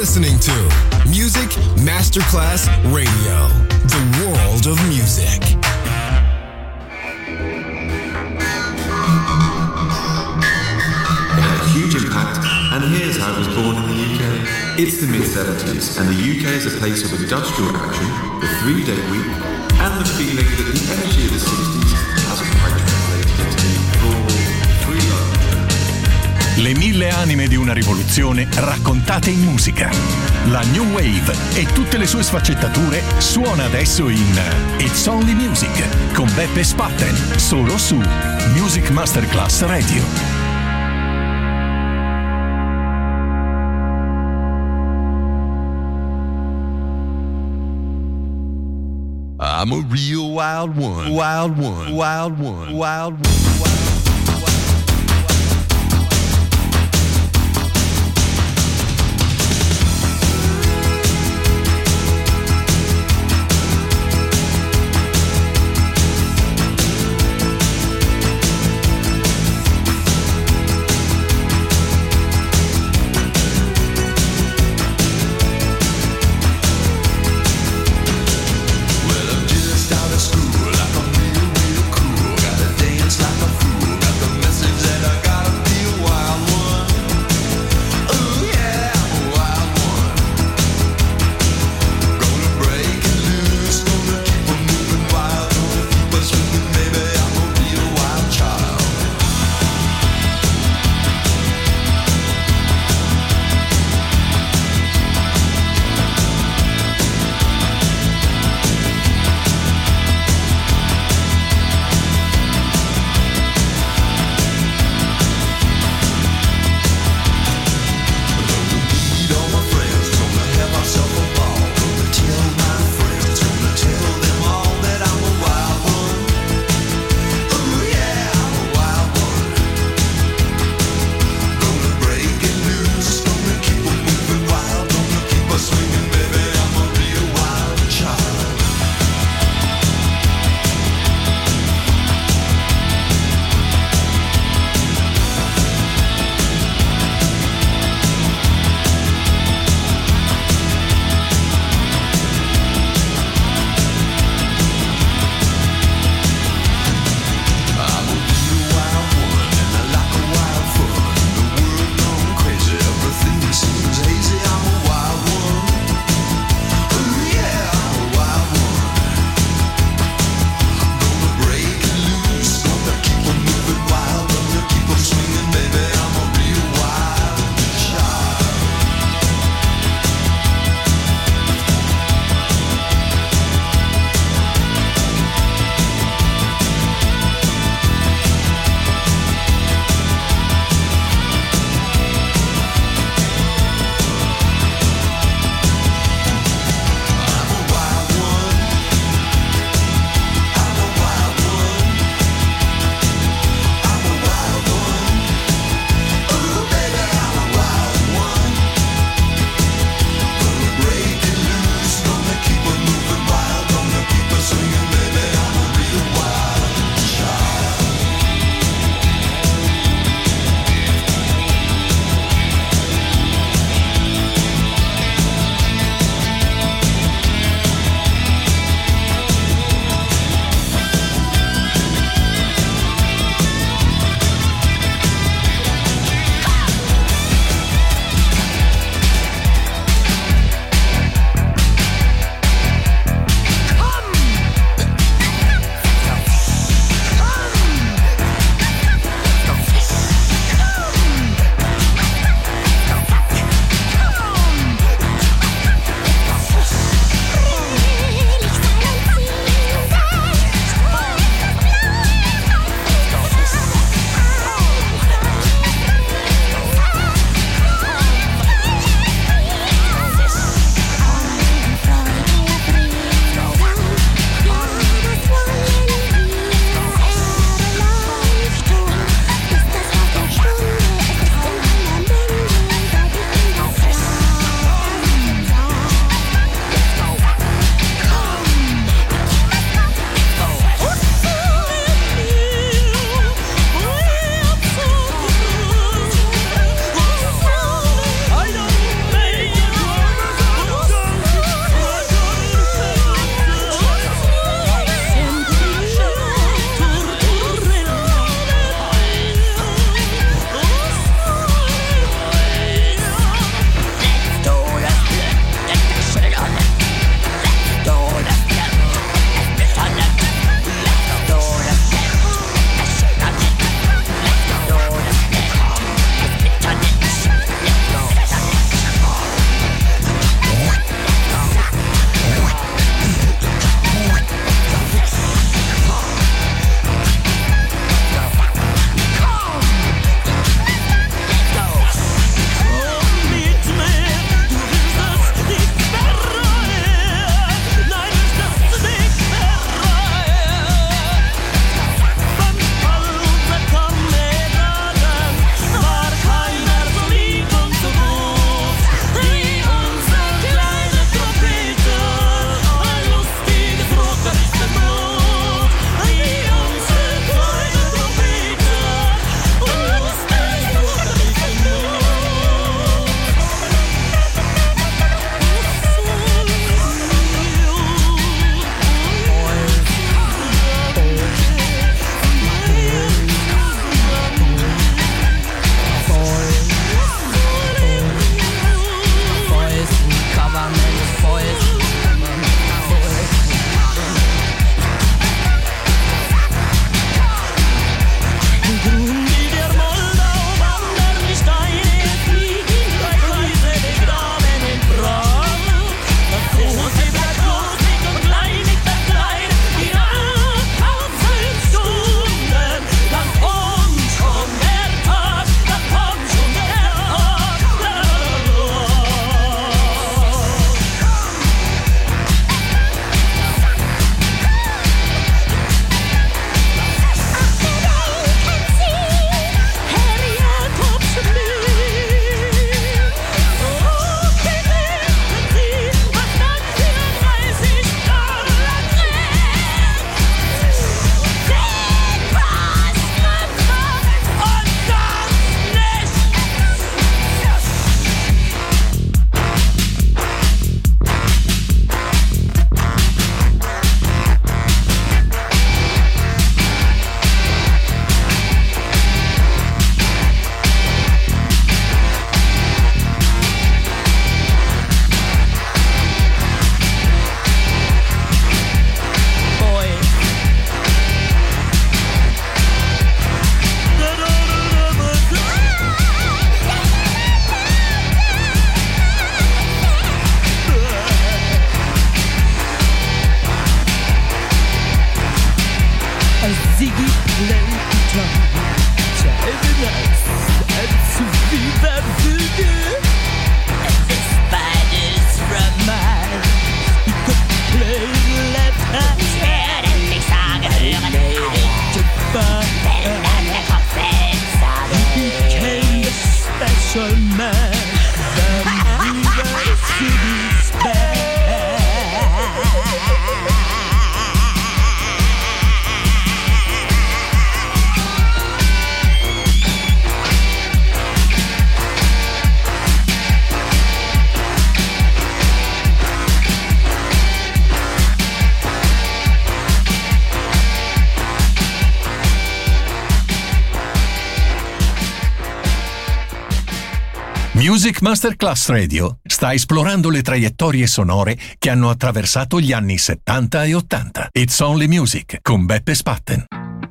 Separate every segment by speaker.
Speaker 1: listening to Music Masterclass Radio, the world of music.
Speaker 2: It had a huge impact, and here's how it was born in the UK. It's the mid-70s, and the UK is a place of industrial action, the 3-day week, and the feeling that the energy of the 60s hasn't quite translated into the raw, free love.
Speaker 3: Le 1000 anime di una rivoluzione raccontate in musica. La New Wave e tutte le sue sfaccettature suona adesso in It's Only Music con Beppe Spatten, solo su Music Masterclass Radio.
Speaker 4: I'm a real wild one, wild one, wild one, wild one.
Speaker 5: Well, I'm just out of school, like I'm real, real cool. Gotta dance like a fool.
Speaker 3: Music Masterclass Radio sta esplorando le traiettorie sonore che hanno attraversato gli anni 70 e 80. It's Only Music con Beppe Spatten.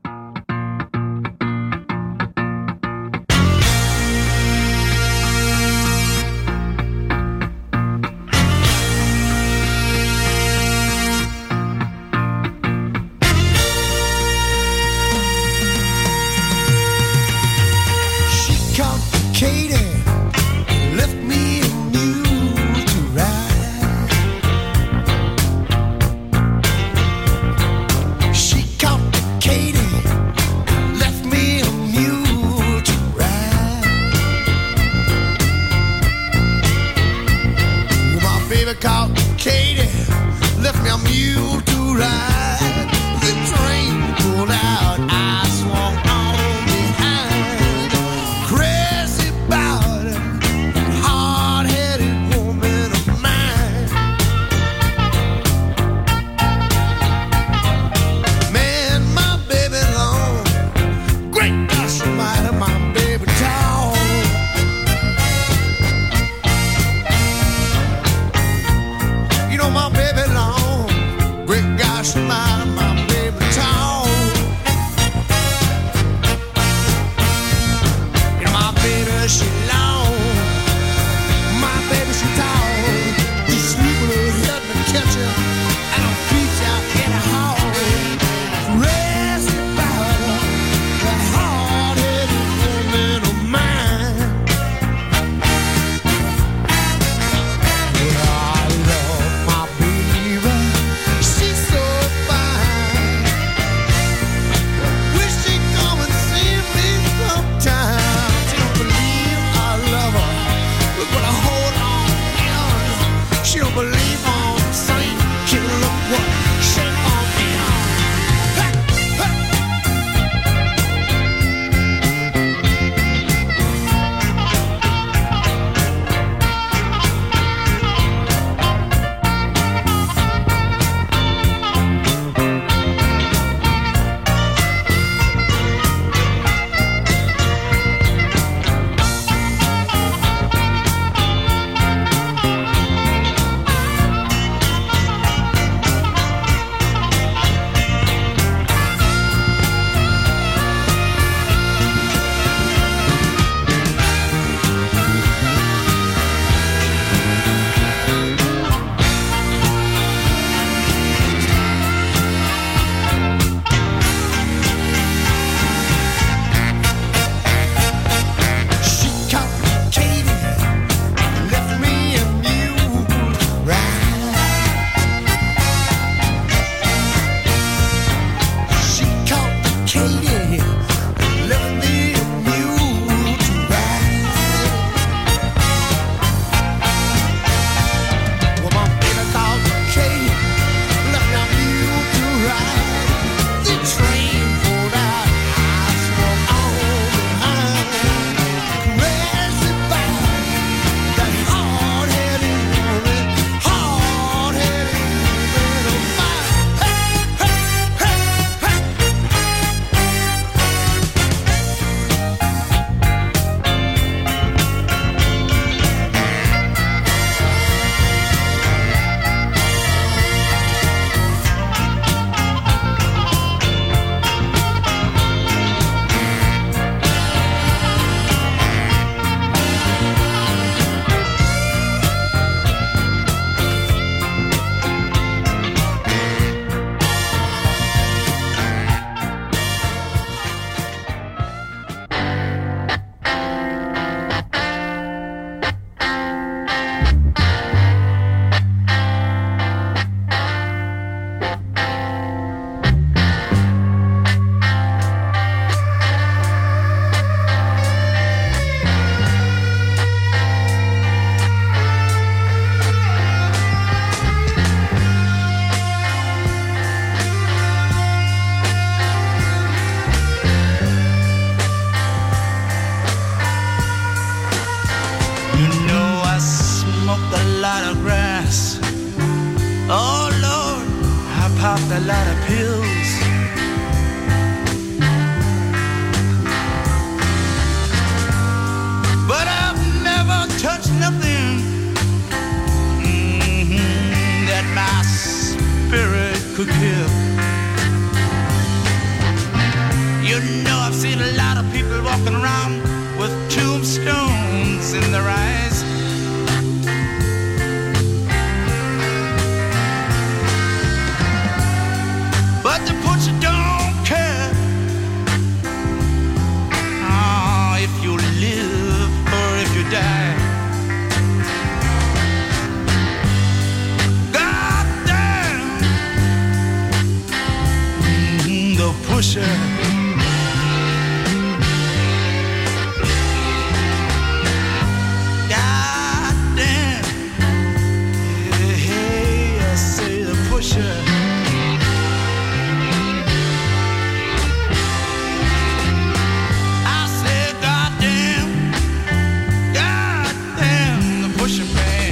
Speaker 5: popped a lot of pills. But I've never touched pusher. Goddamn. Hey, I say the pusher. I say goddamn, goddamn the pusher man.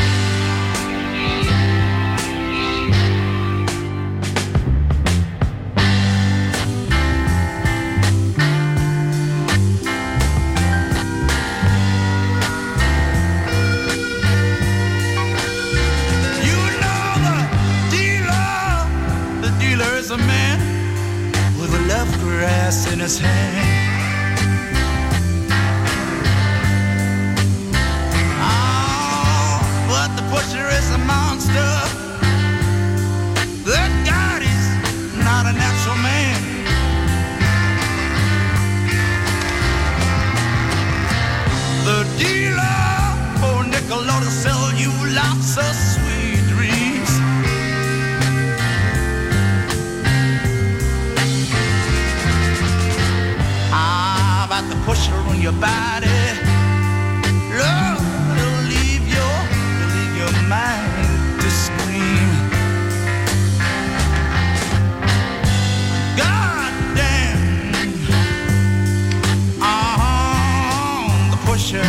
Speaker 5: A man with a love grass in his hand. Oh, but the pusher is a monster. That God is not a natural man. The dealer, oh nickel, ought to sell you lots of sweet dreams. About the pusher on your body, love, it'll leave your mind to scream. God damn, the pusher.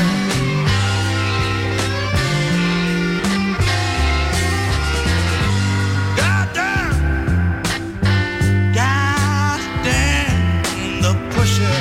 Speaker 5: God damn, the pusher.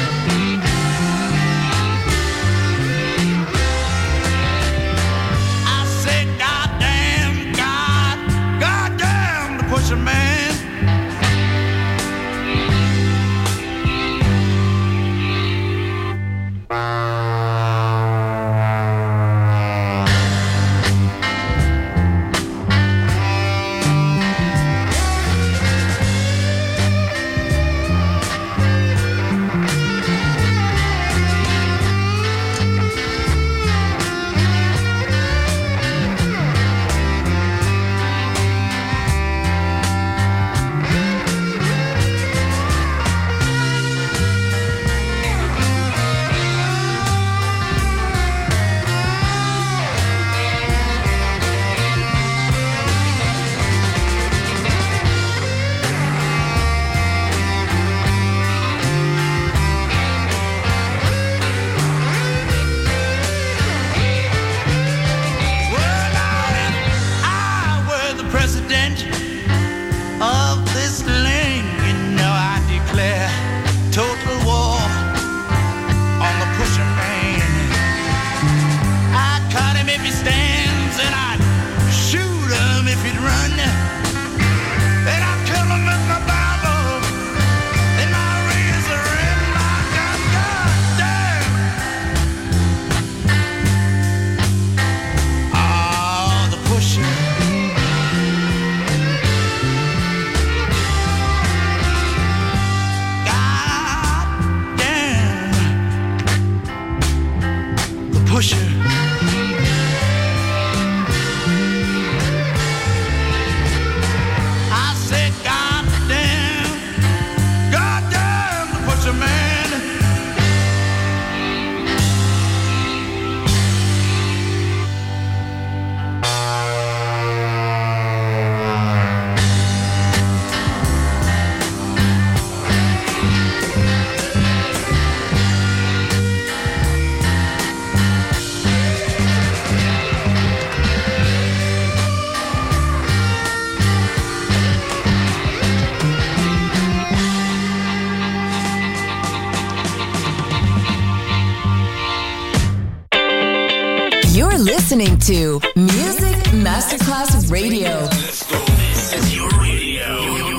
Speaker 6: Listening to Music Masterclass Radio.
Speaker 3: Let's go. This is your radio.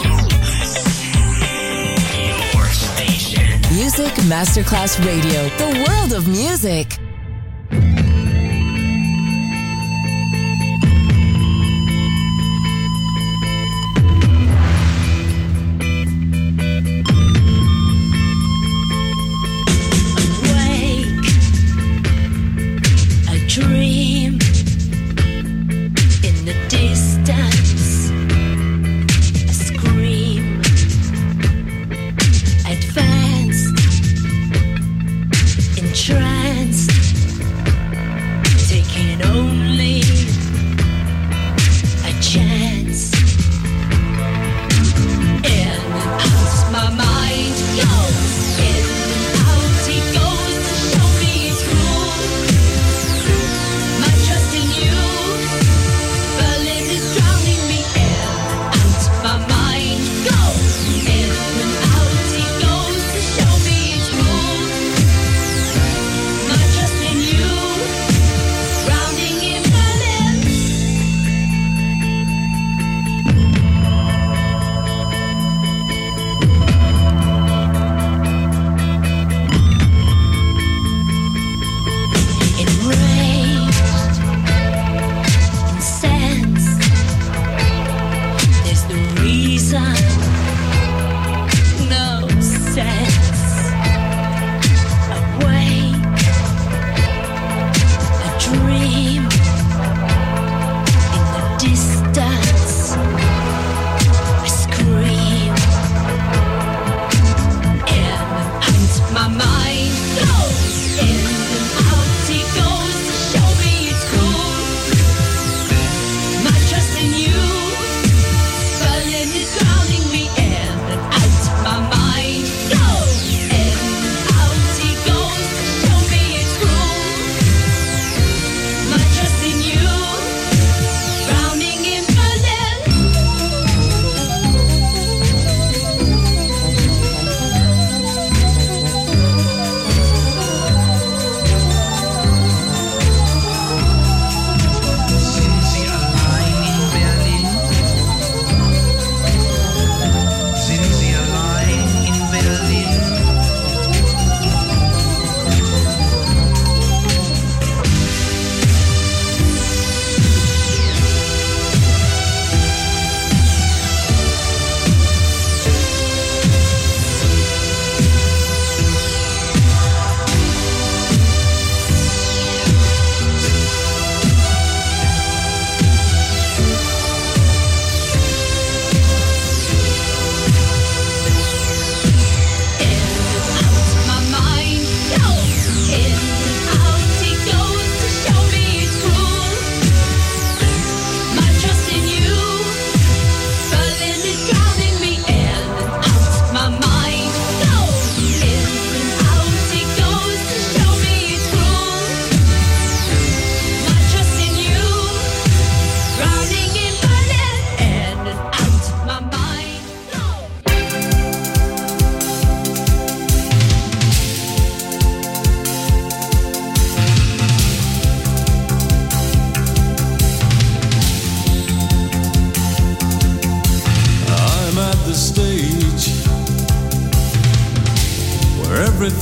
Speaker 3: Your station.
Speaker 6: Music Masterclass Radio. The world of music.
Speaker 7: Dream in the distance, a scream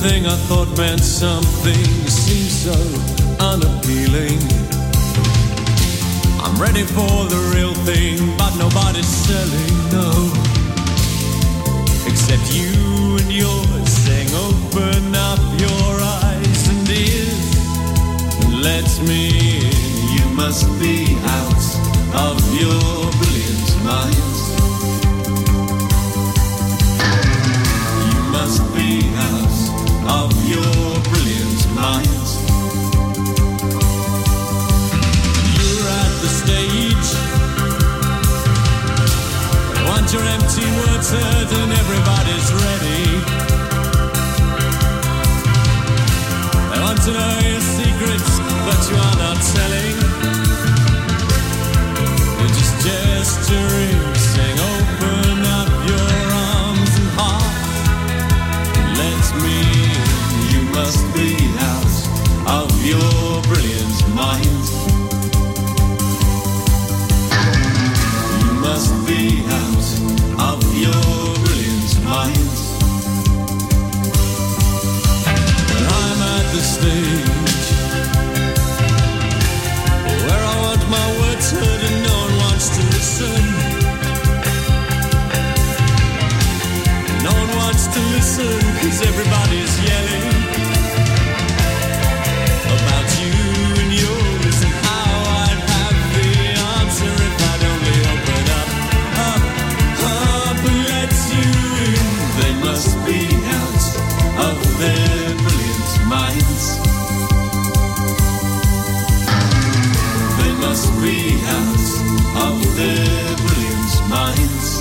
Speaker 8: Everything I thought meant something seems so unappealing. I'm ready for the real thing, but nobody's selling, no. Except you and yours saying open up your eyes and ears and let me in. You must be out of your brilliant minds. You must be out of your brilliant minds. You're at the stage. You want your empty words heard and everybody's ready. They want to know your secrets, but you are not telling. You're just gesturing, saying open up your arms and heart. Let me in. You must be out of your brilliant mind. You must be out of your brilliant mind. And I'm at the stage where I want my words heard and no one wants to listen. No one wants to listen, 'cause everybody's yelling about you and yours and how I'd have the answer if I'd only open up and let you in. They must be out of their brilliant minds. They must be out of their brilliant minds.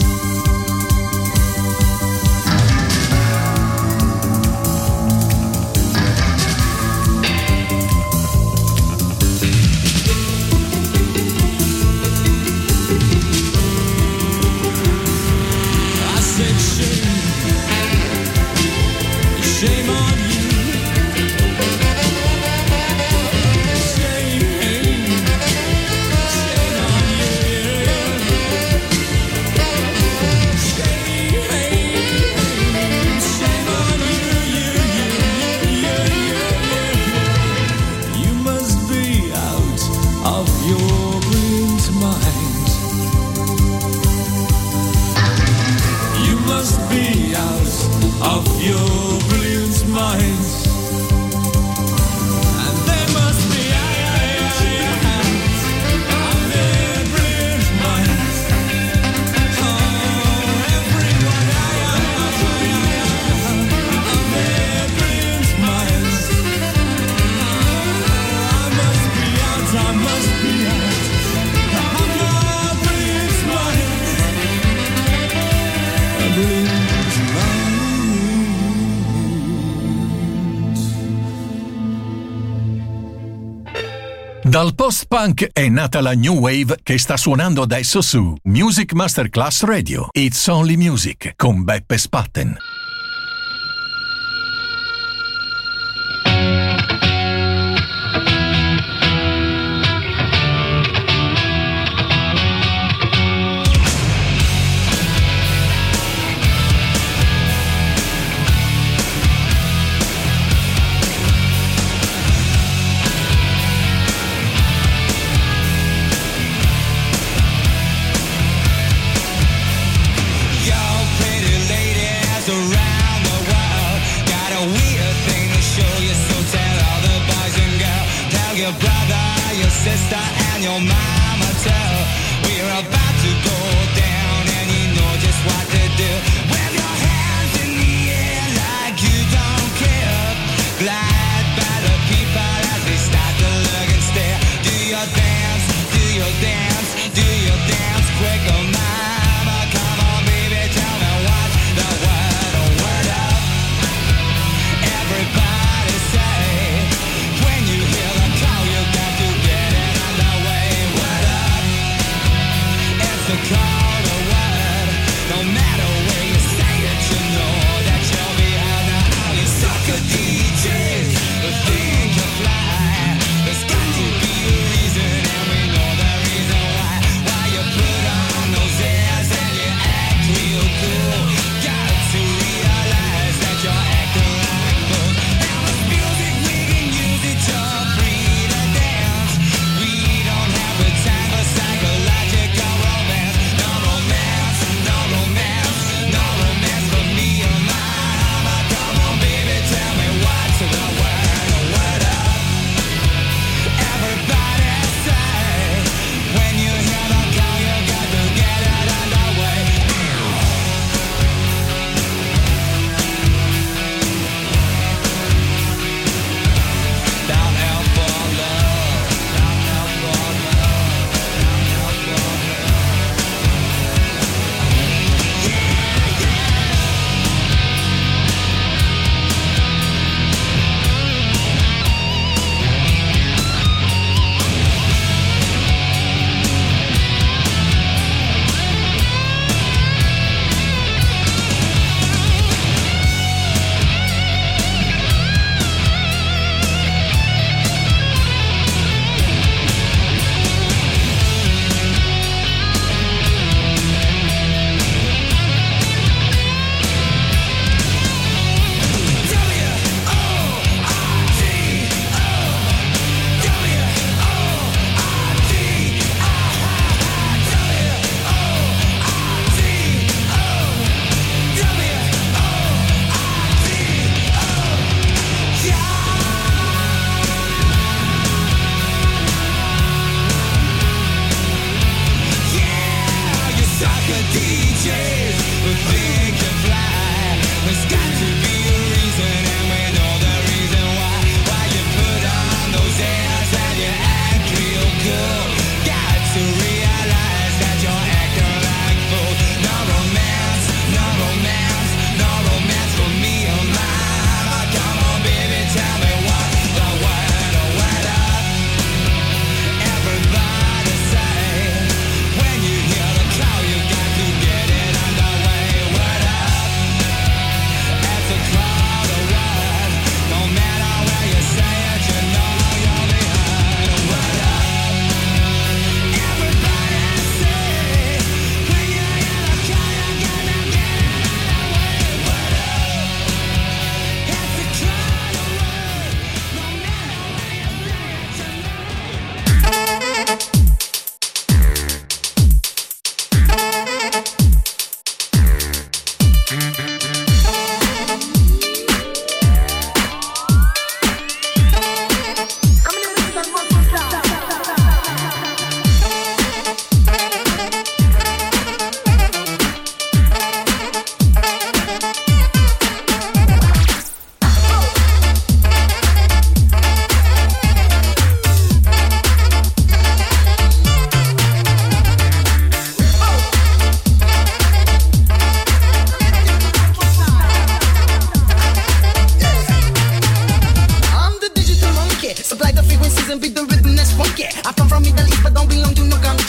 Speaker 8: Shame on you. Shame on you. Shame on you. You must be out of your brilliant mind. You must be out of your brilliant minds. And they must be out of their brilliant minds. Oh, everyone of their brilliant minds. I must be out of my brilliant minds. A brilliant mind.
Speaker 3: Dal post-punk è nata la New Wave che sta suonando adesso su Music Masterclass Radio. It's Only Music con Beppe Spatten.
Speaker 9: Your brother, your sister, and your mama too. We're about to go down, and you know just what to do. Wave your hands in the air like you don't care. Glide by the people as they start to look and stare. Do your dance, do your dance, do your dance quick, oh mama. Come on, baby, tell me what's the word, oh word up. Everybody say, when you hear the call, you got to get it underway. Word up, it's the call to word. No matter where you say it, you know that you'll be out now. All you sucker DJs who think you fly, there's got to be a reason, and we know the reason why. Why you put on the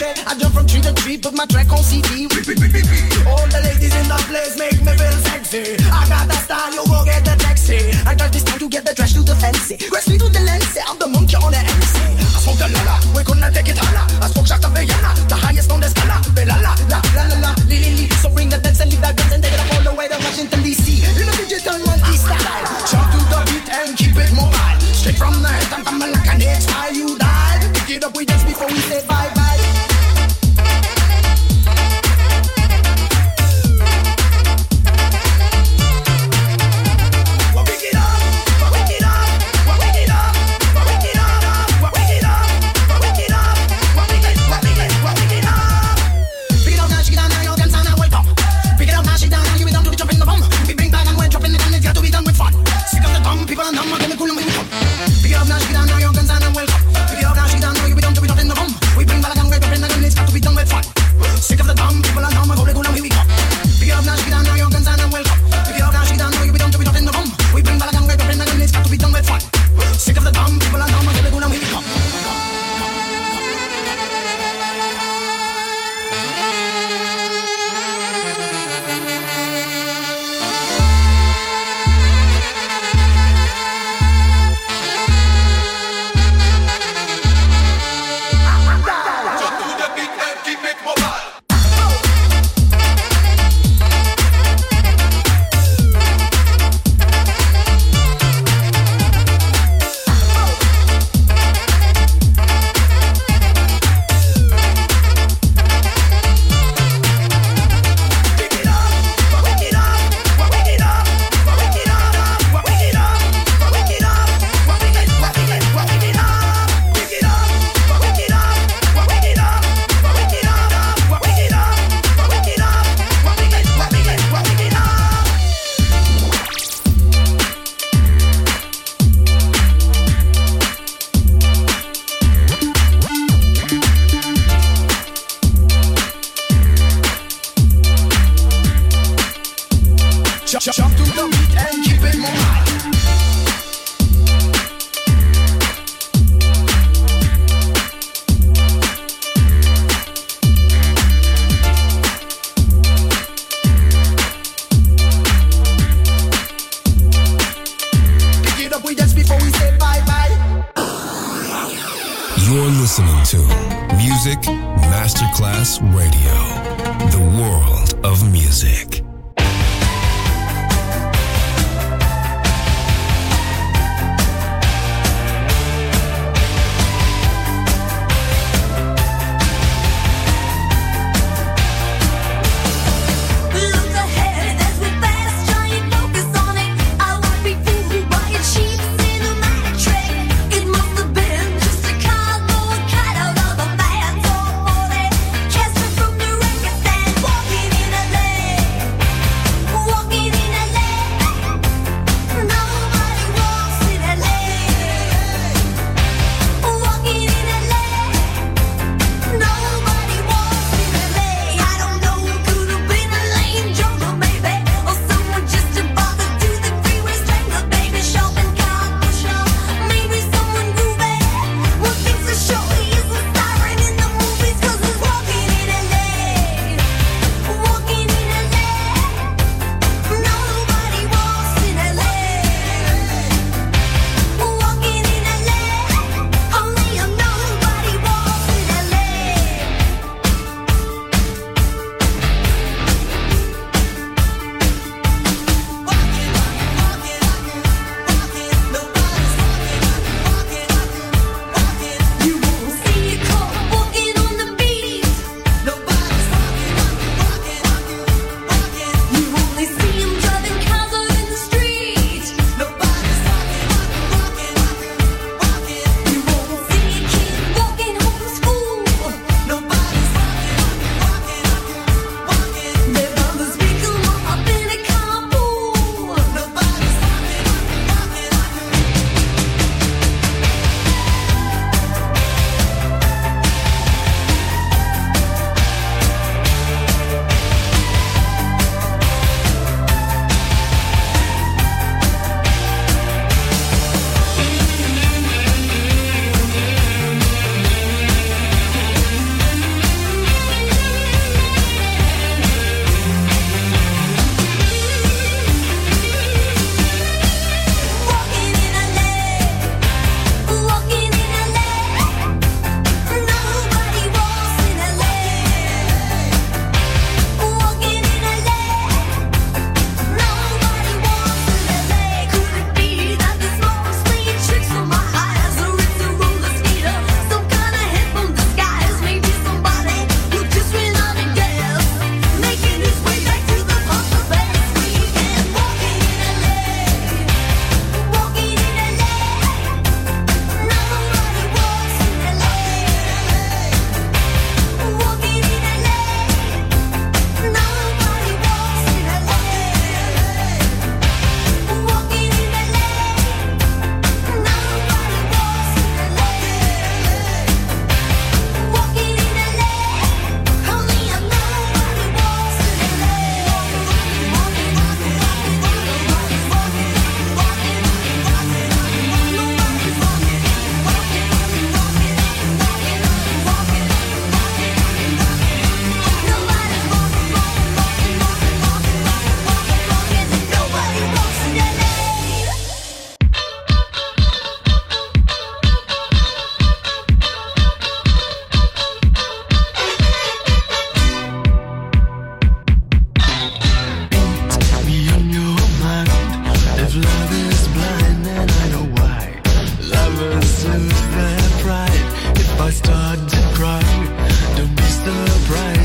Speaker 10: say I jump from tree to tree, put my track on CD. All the ladies in the place make me feel sexy. I got that style, you go get the taxi. I got this time to get the trash to the fancy. Rest me to the lens, I'm the monkey on the MC. I smoke the lala, we gonna take it higher. I smoke Jacques Villana, the highest on the scala. La la la la la la, li li li. So bring the dance and leave that guns and take it up all the way to Washington DC. You know digital monkey style. Jump to the beat and keep it mobile. Straight from the head, I'm like an H-I, you die. Pick it up, we dance before we say bye bye. People are numb, I'm gonna cool them when we come. Pick it up now, shake it down, now your guns and I'm welcome. Pick it up now, shake it down, now you be done to be in the room. We bring back and wake up in the gun, it's got to be done with fun. Sick of the dumb, people are numb, I'm gonna cool them when we come. Pick it up now, shake it down, now your guns and I'm welcome. Pick it up now, shake it down, now you be done to be in the room. We bring back and wake up in the gun, it's got to be done with fun. Sick of the dumb, people are numb, I'm gonna cool them when we come. Jump to the beat and keep it mobile. Pick it up, we dance before we say bye-bye.
Speaker 1: You're listening to Music Masterclass Radio, the world of music.
Speaker 7: Walking in a lane.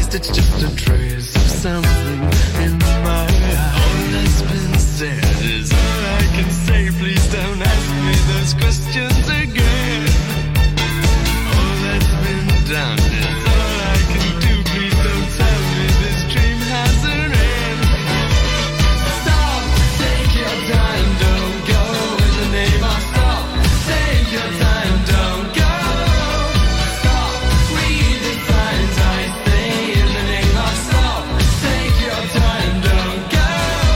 Speaker 8: surprised, it's just a trace of something in my eye. All that's been said is all I can say. Please don't ask me those questions again. All that's been done is all I can do. Please don't tell me this dream has an end. Stop, take your time, don't go in the name of stop. Take your time, don't go. Stop, read the signs I say in the name of stop. Take your time, don't go.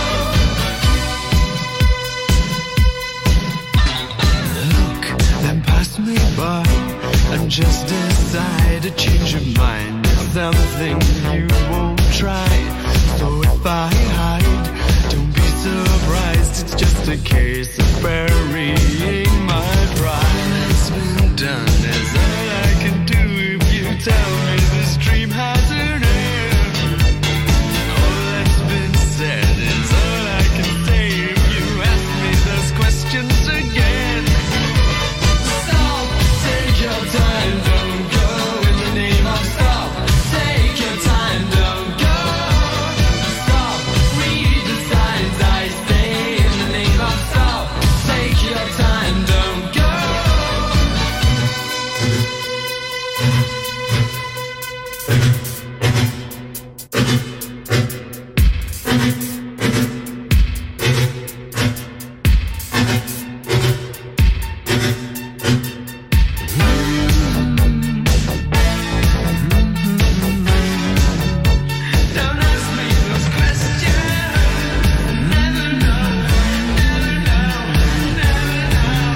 Speaker 8: Look, then pass me by and just decide to change your mind. It's something you won't try. So if I hide, don't be surprised. It's just a case of burying my pride. It's been done is all I can do if you tell me this dream has an end. All that's been said is all I can say if you ask me those questions again. Stop, take your time, don't go in the name of stop. Take your time, don't go. Stop, read the signs I say in the name of stop. Take your time, don't go. Don't ask me those questions. Never know, never know, never know.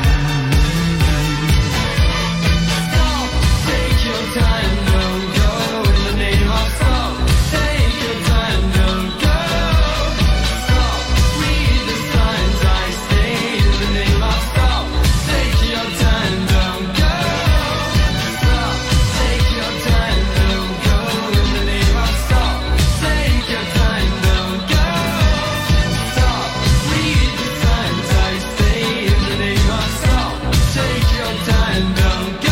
Speaker 8: Stop, take your time, don't go in the name of stop. Take your time, don't go. Stop, read the signs I say in the name of stop. Take your time, don't go. Stop, take your time, don't go in the name of stop. Take your time, don't go. Stop, read the signs I say in the name of stop. Take your time, don't go.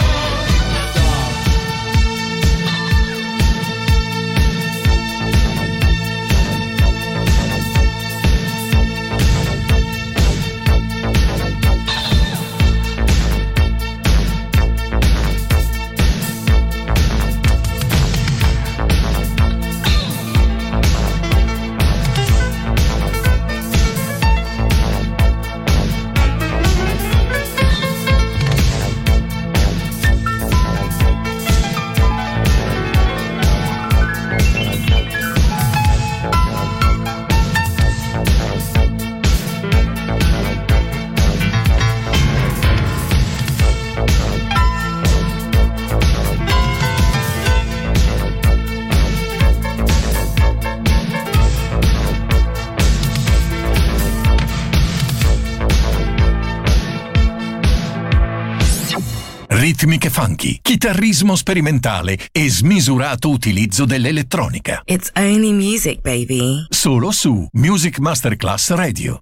Speaker 3: Ritmiche funky, chitarrismo sperimentale e smisurato utilizzo dell'elettronica.
Speaker 6: It's only music, baby.
Speaker 3: Solo su Music Masterclass Radio.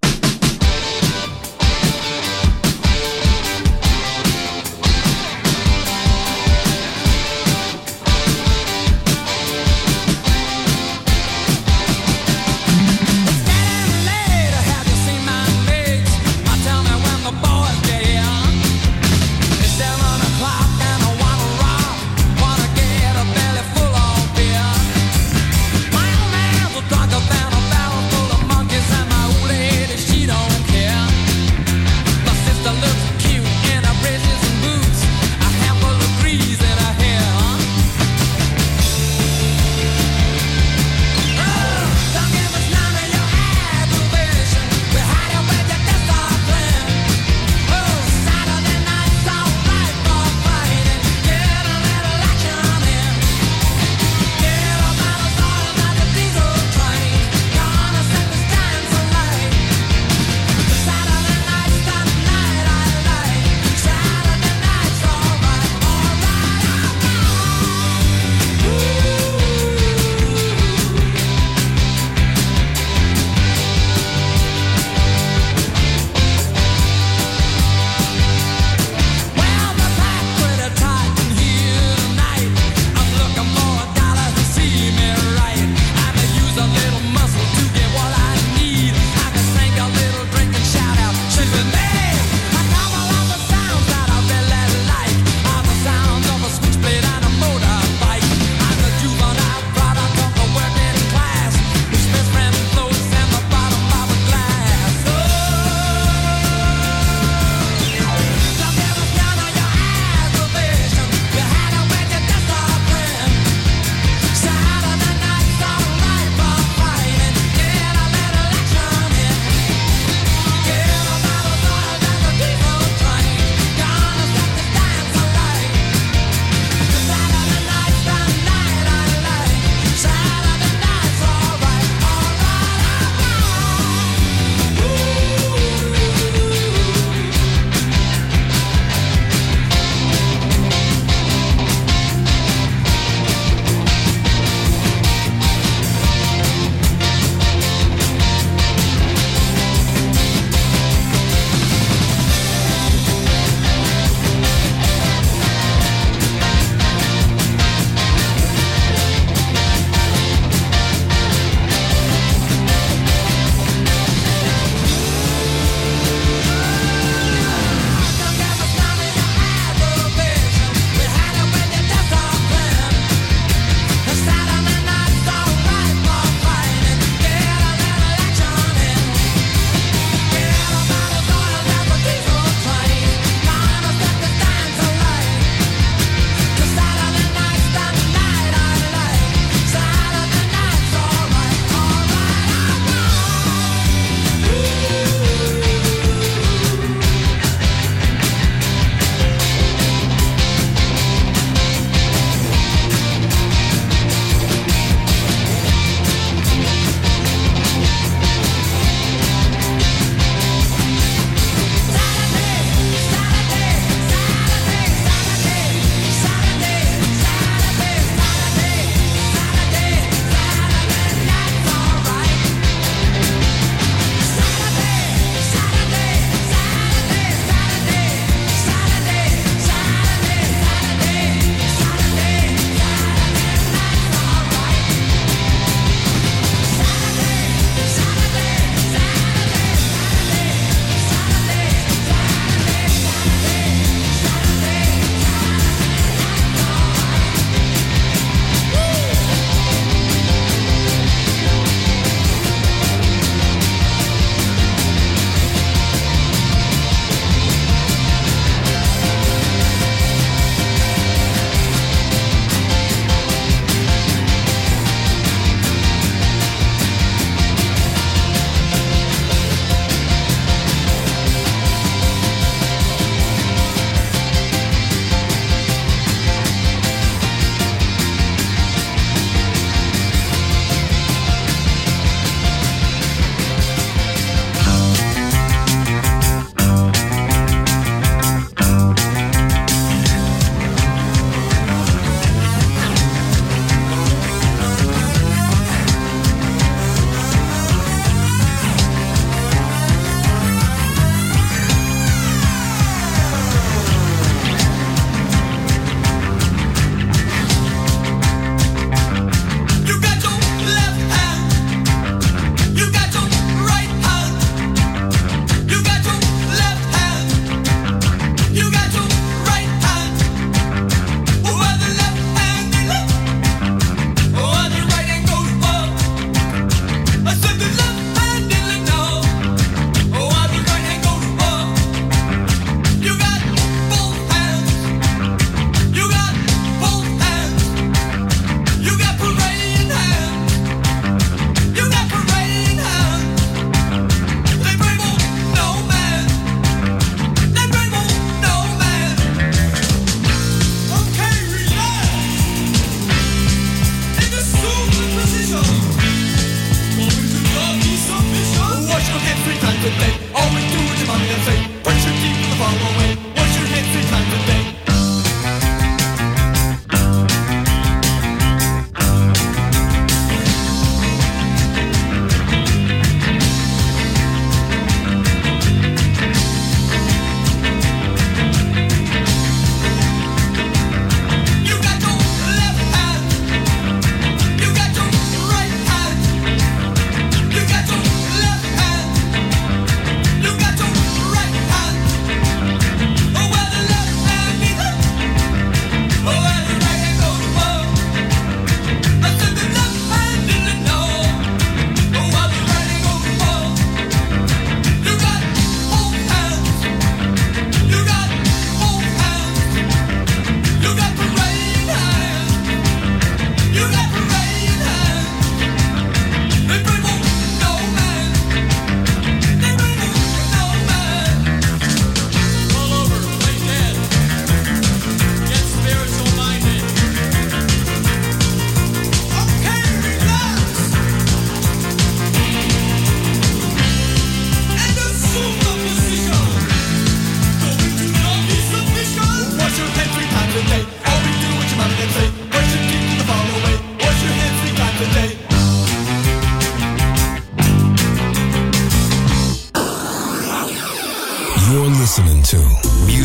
Speaker 9: Drunk a barrel full of monkeys and my old lady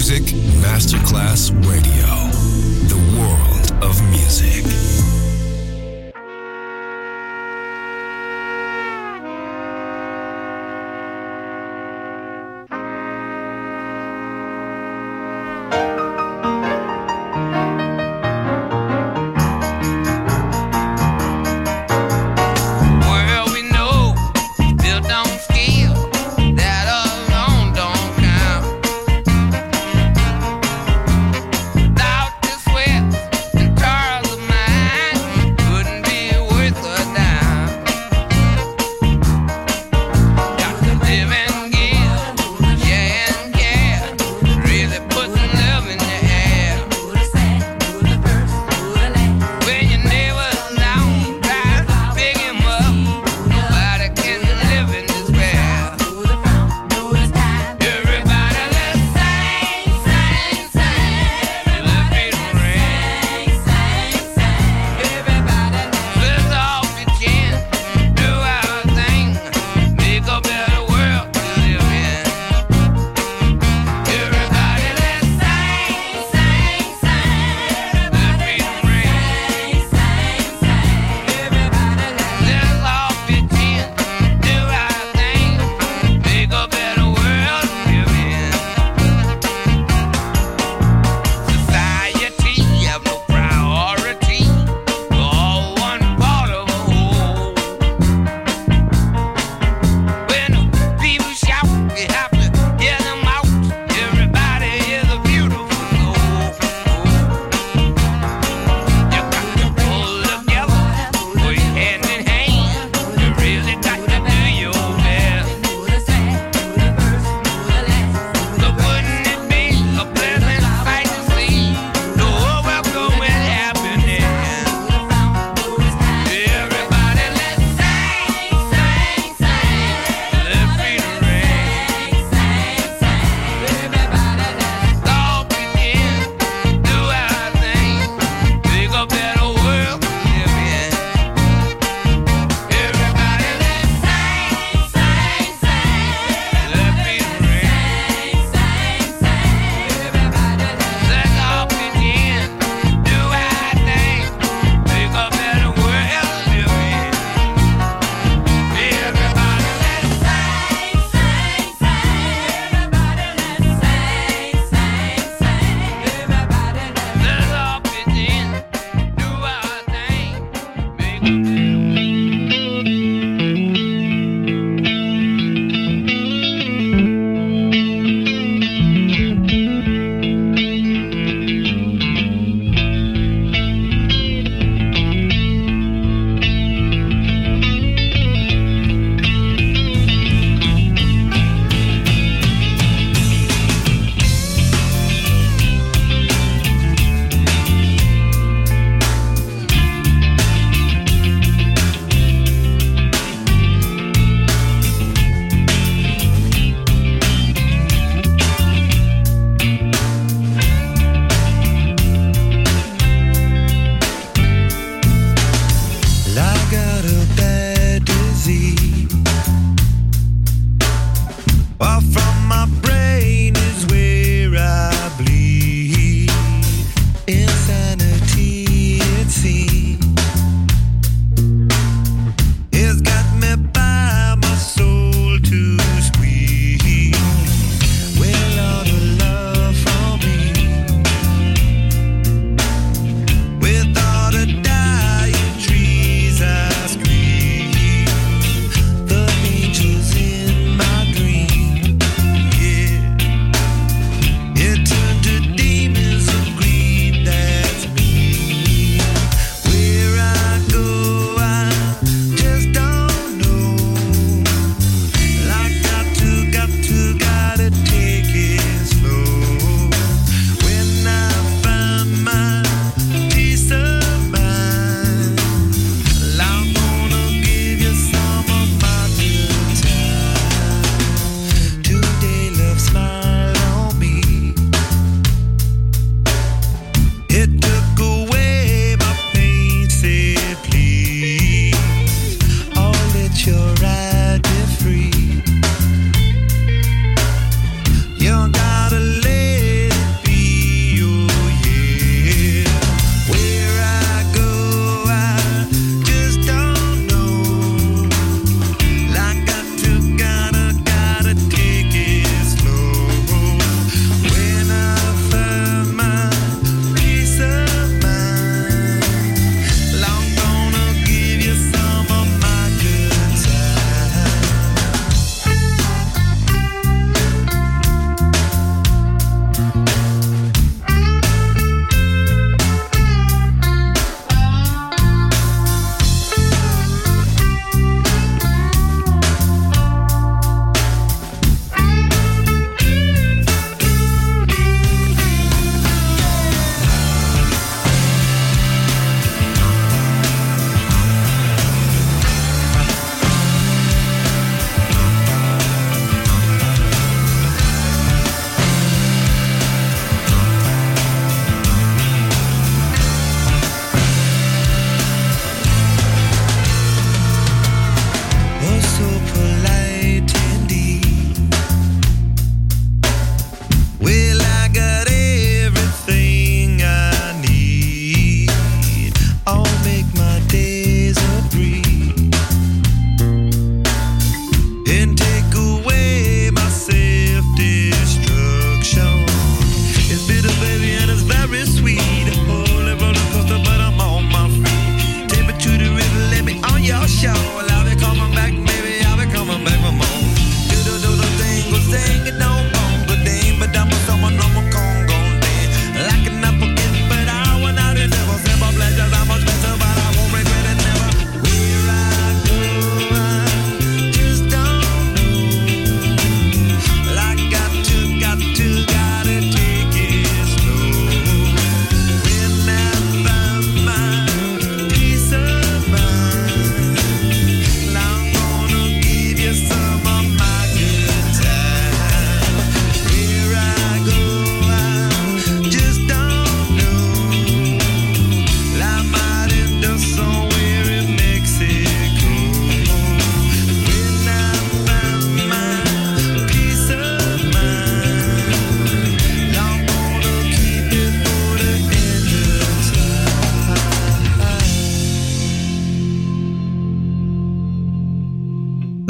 Speaker 1: Music Masterclass Radio. The world of music.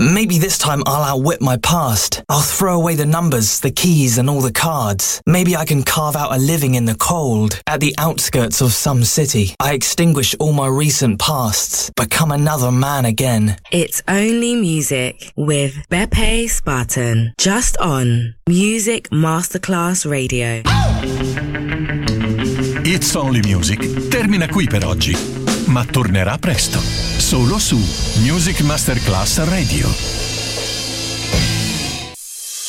Speaker 11: Maybe this time I'll outwit my past. I'll throw away the numbers, the keys and all the cards. Maybe I can carve out a living in the cold, at the outskirts of some city. I extinguish all my recent pasts, become another man again.
Speaker 12: It's Only Music with Beppe Spartan, just on Music Masterclass Radio.
Speaker 3: It's Only Music termina qui per oggi, ma tornerà presto, solo su Music Masterclass Radio.